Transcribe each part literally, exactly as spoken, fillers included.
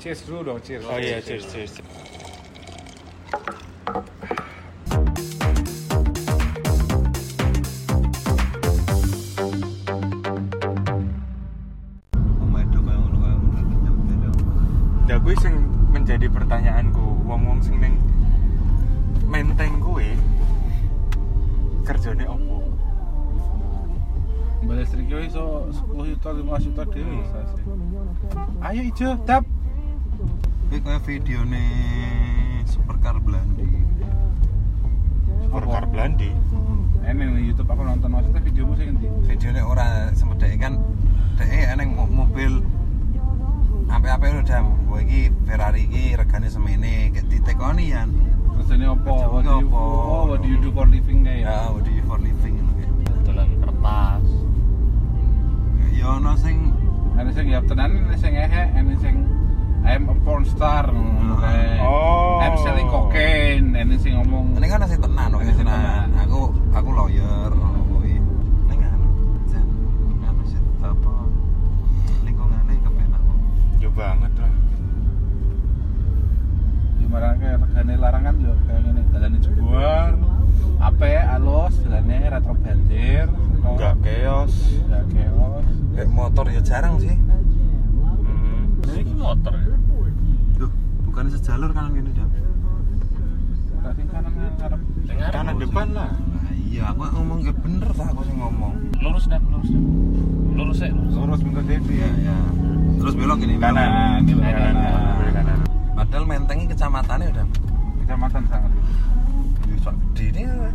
cheers dulu dong, cheers. Oh iya, cheers, cheers. Ya kuwi sing menjadi pertanyaanku, wong-wong sing ning Menteng kuwi kerjane opo? Mbak listrik yo iso sepuluh juta lima belas juta dhewe bisa sih. Ayo ijo, dap. Kuwi kaya videone Supercar Blandi. Supercar Blandi. Ini nih YouTube aku nonton maksudnya videomu sing endi? Videone ora sempet dhek kan dhek eneng mobil ape-ape lho Dam. Kowe iki Ferrari iki regane semene, gek ditekoni yan. Kerjane opo? What do you oh, what do you do for living kayak? Ya, what do you for living ngono kayak. Dolan kertas. Ya ono sing Ada sing ya tenan, ada sing ehe, ada sing I'm a porn star ngono kae. Oh. I'm selling cocaine, ada sing ngomong. ini kan sing tenan kok sing tenan. Aku aku lawyer ngono kuwi. Ning anu jan anu sih apa lingkungane kepenak. Yo banget lah. Gimana kayak regane larangan yo kayak ngene, dalane jebuar. Ape alus, dalane retro banjir. Enggak chaos. Enggak chaos. Kayak motor ya jarang sih. Hmm. Ini motor ya? Duh, bukan sejalur kan gini Dam. Tadi kanan ngarep. Kanan depan lah. Nah, iya, aku ngomong ya bener tak aku sing ngomong. Lurus dah, lurus dah. Lurus ya, lurus. Lurus bentar Devi. Iya, iya. Terus belok gini, belok. Kanan, ini Kanan, kanan. kanan, kanan. Padahal Menteng iki kecamatannya udah Kecamatan sangat. bisa gede nih.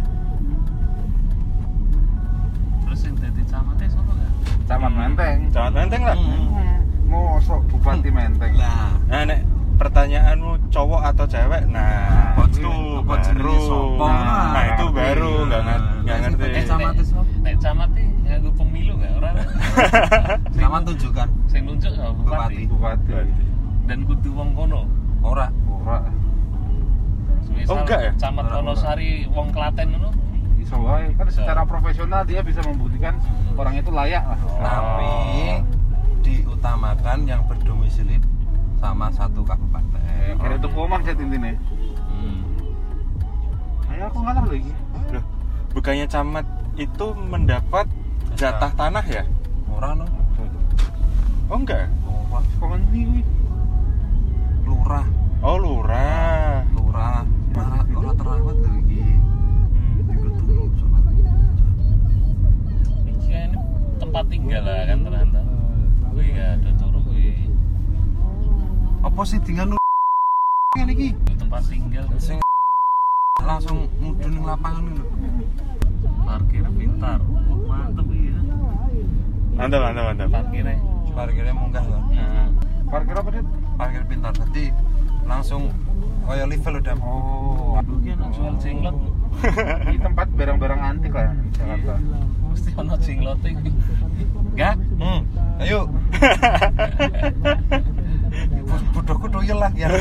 Terus yang dari camatnya sama nggak? Camat Menteng. Camat Menteng lah. Mosok Bupati Menteng. Lah, Nah, nek pertanyaanmu cowok atau cewek? Nah, Apa itu jenenge- apa jenenge baru. sopo? Nah, nah, itu Nah, baru iya. nggak ngerti, nggak Nah, ngerti. eh, camat itu apa? Nek camatnya nganggo pemilu nggak orang? Camat tunjukkan Sing nunjuk sama Bupati. bupati. Bupati. Dan kudu wong kono. ora. Ora. Misal Oh, enggak ya? Camat Ora, ora. Wonosari wong Klaten ngono. Iso wae kan secara profesional dia bisa membuktikan orang itu layak lah. Tapi diutamakan yang berdomisili sama satu kabupaten. Eh, kira itu komah jet intine. Hmm. Ayo aku ngalah lagi. Loh, bukannya camat itu mendapat jatah tanah ya? Ora no. Oh enggak. Oh, Pak. Kok ngendi kuwi? Lurah, Oh lurah. lurah. Ora ora terawat lho iki. Hmm. Iku dulu sobat. Iki kan tempat tinggal lah kan ternyata. Kuwi ya ada turu kuwi. Apa sih dengan ngene iki? Itu tempat tinggal. Sing langsung mudhun ning lapangan lho. Parkir pintar. Oh, mantep iki. Mantap, mantap, mantap. Parkirnya. Parkirnya munggah lho. Nah, Parkir apa, Dit? Parkir pintar. Jadi langsung kaya level udah. Oh, Aduh, ki ana jual jenglot. ini tempat barang-barang antik lah di Jakarta. Mesti ono jenglote iki. Enggak? Hmm. Ayo. Bodohku doyel lah ya.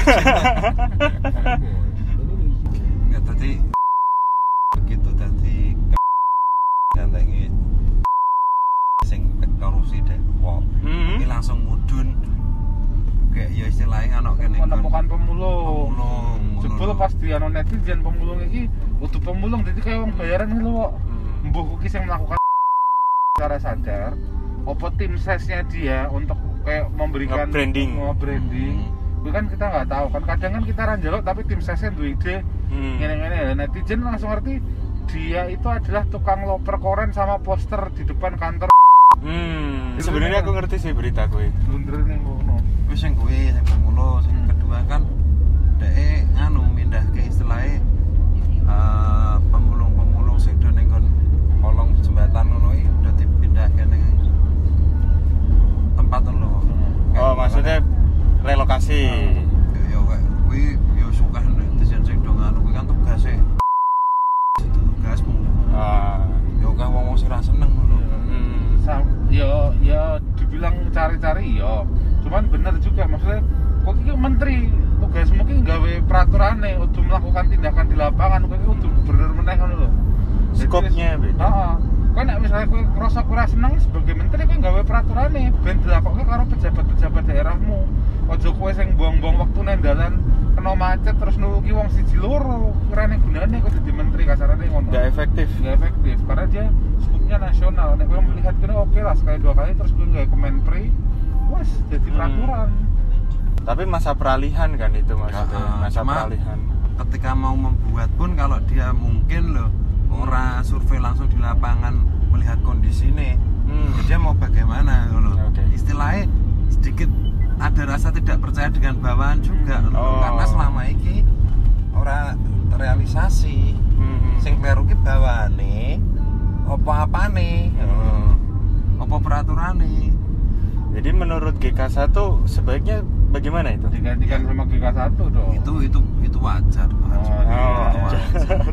Enggak tadi begitu tadi gantengi sing korupsi deh. Wow. Hmm. Ini langsung mudun. Kayak ya istilahnya anak kene Menemukan pemulung. pemulung. Jebul pas di anu netizen pemulung iki utuh pemulung jadi kayak wong bayaran iki lho kok. Mbuh kuwi sing melakukan secara sadar apa tim sesnya dia untuk kayak memberikan Nge-branding. branding. Itu kan kita nggak tahu kan kadang kan kita ranjelok tapi tim sesnya duwe ide Hmm. ngene-ngene. Netizen langsung ngerti dia itu adalah tukang loper koren sama poster di depan kantor. Hmm. Sebenarnya aku ngerti sih berita gue. Blunder ning ngono. Wis sing kuwi sing pemulung, sing kedua kan dhek nganu mindah ke istilahnya eh, pemulung-pemulung sing do ning nggon kolong jembatan ngono iki udah dipindah ke ning tempat lho. Oh, maksudnya relokasi. Ya ya kayak kuwi ya suka netizen sing do nganu kuwi kan tugase. Itu tugasmu. Ah. Ya kan wong-wong sing ra seneng ngono. Hmm. Sa- ya ya dibilang cari-cari ya cuman bener juga maksudnya kok iki menteri tugas mungkin gawe peraturannya untuk melakukan tindakan di lapangan kok iki kudu bener meneh ngono lho. Jadi, Skopnya beda. heeh. Kowe nek misalnya kowe krasa kurang seneng sebagai menteri kowe gawe peraturane ben dilakokke karo pejabat-pejabat daerahmu. Aja kowe sing buang-buang waktu nang dalan kena macet terus nulungi wong siji loro. Kirane gunane kowe dadi menteri kasarane ngono. Nggak efektif. Nggak efektif karena dia skupnya nasional. Nek kowe melihat kene oke lah sekali dua kali terus kowe gawe kemenpri, wes jadi peraturan. Hmm. Tapi masa peralihan kan itu maksudnya, uh, masa cuma peralihan. Ketika mau membuat pun kalau dia mungkin loh orang survei langsung di lapangan melihat kondisi ini, Hmm. dia mau bagaimana loh. Oke. Istilahnya sedikit ada rasa tidak percaya dengan bawahan juga Oh. karena selama ini orang terrealisasi. Hmm. Sing kleru ki bawane apa-apane, Hmm. apa peraturane. Jadi menurut G K satu sebaiknya bagaimana itu? Digantikan sama G K satu dong. Itu itu itu wajar, Pak. Oh, Itu wajar. wajar.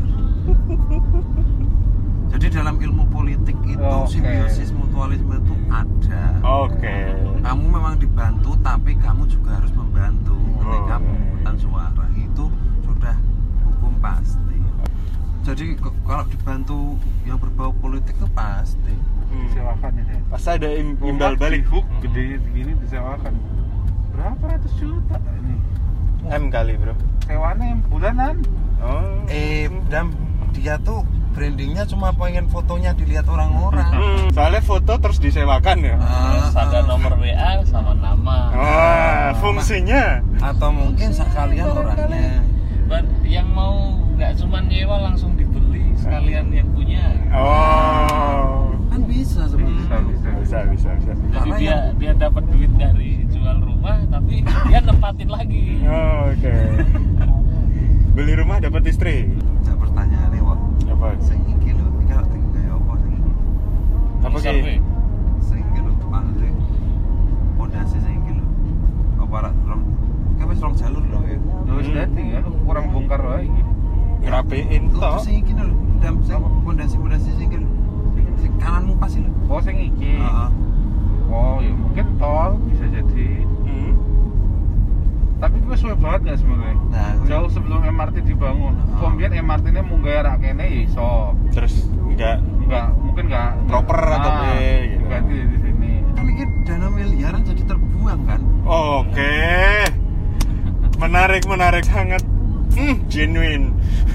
Jadi dalam ilmu politik itu Oke. simbiosis mutualisme itu ada. Oke. Kamu memang dibantu tapi kamu juga harus membantu ketika Oh. pemungutan suara. Itu sudah hukum pasti. Jadi k- kalau dibantu yang berbau politik itu pasti. Hmm. Disewakan ini. Pas ada im- imbal Rumah balik di hook gede segini disewakan. Berapa ratus juta ini? M kali bro. Sewaannya bulanan. Oh. Eh, dan dia tuh brandingnya cuma pengen fotonya dilihat orang-orang. Hmm. Soalnya foto terus disewakan ya. Terus Ah, ada ah. nomor W A sama nama. Wah, fungsinya. Atau mungkin sekalian orangnya. Buat yang mau nggak cuma nyewa langsung dibeli sekalian yang punya. Oh. Kan bisa Bisa, sebenarnya. bisa. Bisa, bisa, bisa. Jadi Karena dia yang- dia dapat duit dari jual rumah tapi dia nempatin lagi. Oh, oke. Beli rumah dapat istri. Ada pertanyaan nih, Wak. Apa? Sing iki lho, iki kalau tinggal kayak apa sing iki? Apa Survei. ki? Sing iki lho, maksudnya pondasi sing iki lho. Apa rak rong? Kan wis rong jalur lho ya. Terus Hmm. dadi ya kurang bongkar wae iki. Ngerapiin Lho, toh. sing iki lho, dam sing pondasi-pondasi sing iki lho. Sing kananmu pas iki lho. Oh sing iki. Heeh. Oh ya mungkin tol bisa jadi. Hmm. Tapi gue suwe banget gak sebenarnya. Nah, gue- Jauh sebelum M R T dibangun. Oh. Kemudian M R T-nya munggah rak kene ya iso. Terus enggak Enggak, mungkin enggak Proper atau nah, B, gitu. ganti di sini. kan ini dana miliaran jadi terbuang kan. Oke. Menarik, menarik sangat. Hmm, genuine.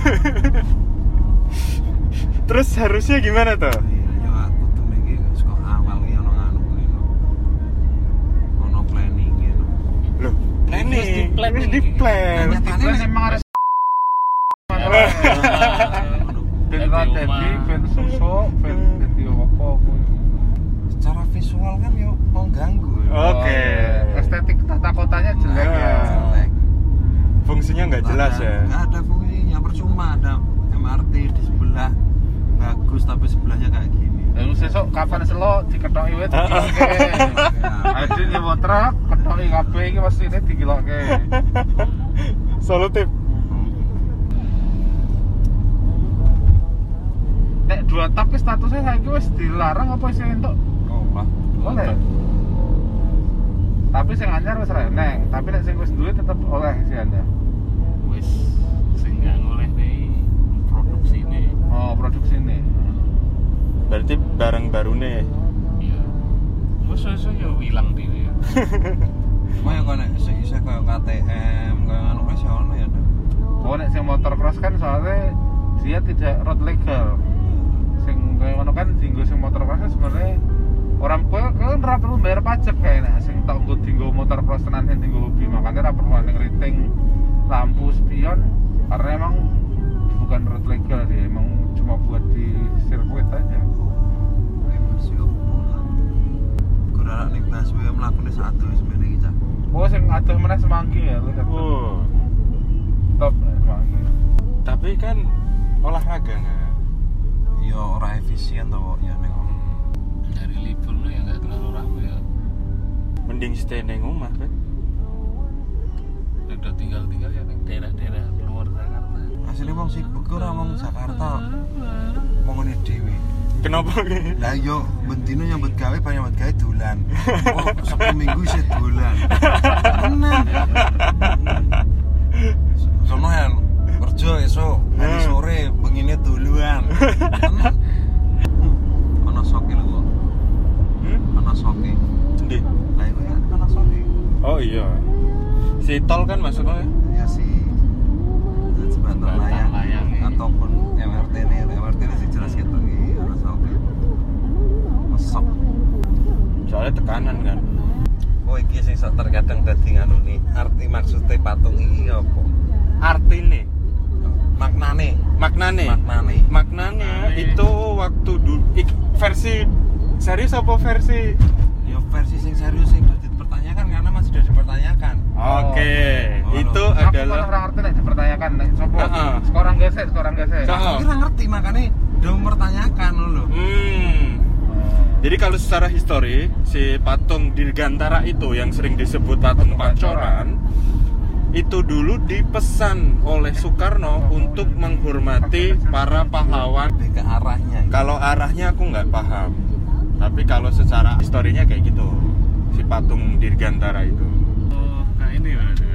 Terus harusnya gimana tuh? Iya, ya aku tuh iki kok awal iki ono anu kuwi lho. Ono planning gitu. Loh, planning. Wis di-plan Wis ini. di-plan. Nah, Kan Makanya- emang ada ben Dadi ra omah. dadi ben susuk, ben dadi apa kuwi. Secara visual kan yo mau ganggu. Oke. Oh, estetik tata kotanya jelek ya. Ah. Jelek. Fungsinya nggak jelas Ada- ya. nggak ada fungsinya, percuma ada M R T di sebelah bagus tapi sebelahnya kayak gini. Lalu sesuk kapan selo diketoki wae Ah. dikiloke. Aja nyewa truk, ketoki kabeh iki mestine dikiloke. Solutif. Nek dua tak ki statusnya saiki wis dilarang apa sih entuk? Oh, lah. Oleh. Tapi sing anyar wis ra eneng, tapi nek sing wis duwe tetep oleh sih Anda. Wis sing nggak ngoleh nih produksi nih. Oh, produksi ini. Berarti barang baru nih. Iya. Wis iso yo ilang dhewe. Cuma ya kok nek sing isih koyo K T M, koyo anu wis ya ono ya. Dok. Oh, nek sing motor cross kan soalnya dia tidak road legal. Sing kaya ngono kan dienggo sing motor cross kan sebenarnya orang kowe kan ora perlu bayar pajak kayaknya sing tak nggo dienggo motor cross tenan sing dienggo hobi makanya ora perlu ana rating lampu spion karena emang bukan road legal dia emang cuma buat di sirkuit aja. Kuwi masih opo lah. Kurang ning busway mlakune satu wis mene iki, Cak. Oh sing adoh meneh Semanggi ya lu lihat. Oh. Top lah Semanggi. Tapi kan olahraga nggak? Ya ora efisien to kok ya ning kono. Dari libur lu ya nggak terlalu ramai ya. Mending stay neng rumah kan? Udah tinggal-tinggal ya di daerah-daerah luar Jakarta. Asli wong sibuk ora wong Jakarta. Mongone dhewe. Kenapa ki? Lah yo bentino nyambut gawe banyak nyambut gawe dolan. Oh, Sabtu Minggu isih dolan. Tenan. Sono ya kerja esuk, hari sore bengine duluan. Tenan. tol kan masuknya. Ya sih jembatan Jembatan layang layang. ataupun M R T nih M R T ini sih jelas gitu iki ana sampe mesok. Soalnya tekanan kan. Oh iki sing sok terkadang dadi nganu nih arti maksudnya patung iki apa? Artine, Maknane, maknane. maknane. Maknanya itu waktu dulu ik- versi serius apa versi? Ya versi sing serius sing udah dipertanyakan karena masih sudah dipertanyakan. Oke, Oh, itu Aku malah adalah ora ngerti nek dipertanyakan nek sapa. Heeh. Sekarang gesek, sekarang gesek. Heeh. Aku kira ngerti makanya udah mempertanyakan loh. hmm. Jadi kalau secara histori si patung Dirgantara itu yang sering disebut patung Pancoran itu dulu dipesan oleh Soekarno untuk menghormati para pahlawan. Lebih ke arahnya. Kalau arahnya aku nggak paham, tapi kalau secara historinya kayak gitu si patung Dirgantara itu. Oh, nah ini berarti.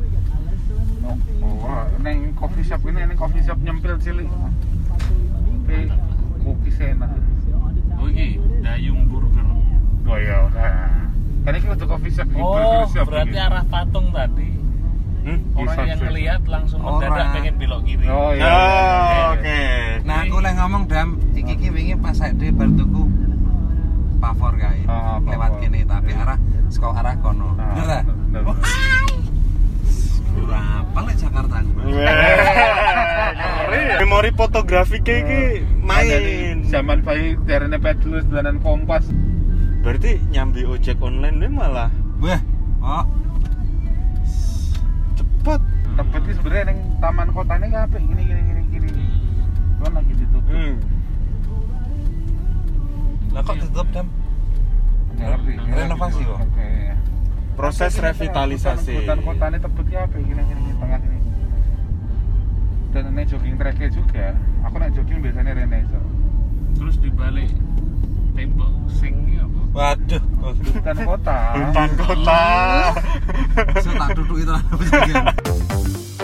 Oh, oh, neng coffee shop ini neng coffee shop nyempil cilik. Eh, cookies enak. Oh iki Dayung Burger. Oh iya, nah. Kan ini udah coffee shop, Oh, burger shop berarti ini. arah patung tadi. Hmm? Orang Bisa yang sih. ngelihat langsung Orang. mendadak pengen belok kiri. Oh iya. Oh, oke. Nah aku lagi ngomong Dam, iki iki wingi pas saya di bar tuku pavor kae. Ah, pavor. Lewat kene tapi arah saka arah kono. Ah, Bener ta? bener, Oh, bener. ora apa lek Jakarta aku. Ngeri ya. Memori fotografi kayak iki main. Zaman bayi derene pedulus dolanan kompas. Berarti nyambi ojek online ini malah Wah, oh cepet. Tebet iki sebenarnya neng taman kotane ki apik gini gini gini gini. Kan lagi ditutup. Hmm. lah kok ditutup Dam? Nggak ngerti. Renovasi kok. Oke. Proses revitalisasi. Hutan kotane tebet ki apik gini gini gini tengah ini. Dan nek jogging track juga, aku nek jogging biasanya rene iso. Terus dibalik tembok sing iki apa? Waduh, Hutan kota. Hutan kota. so tak duduk itu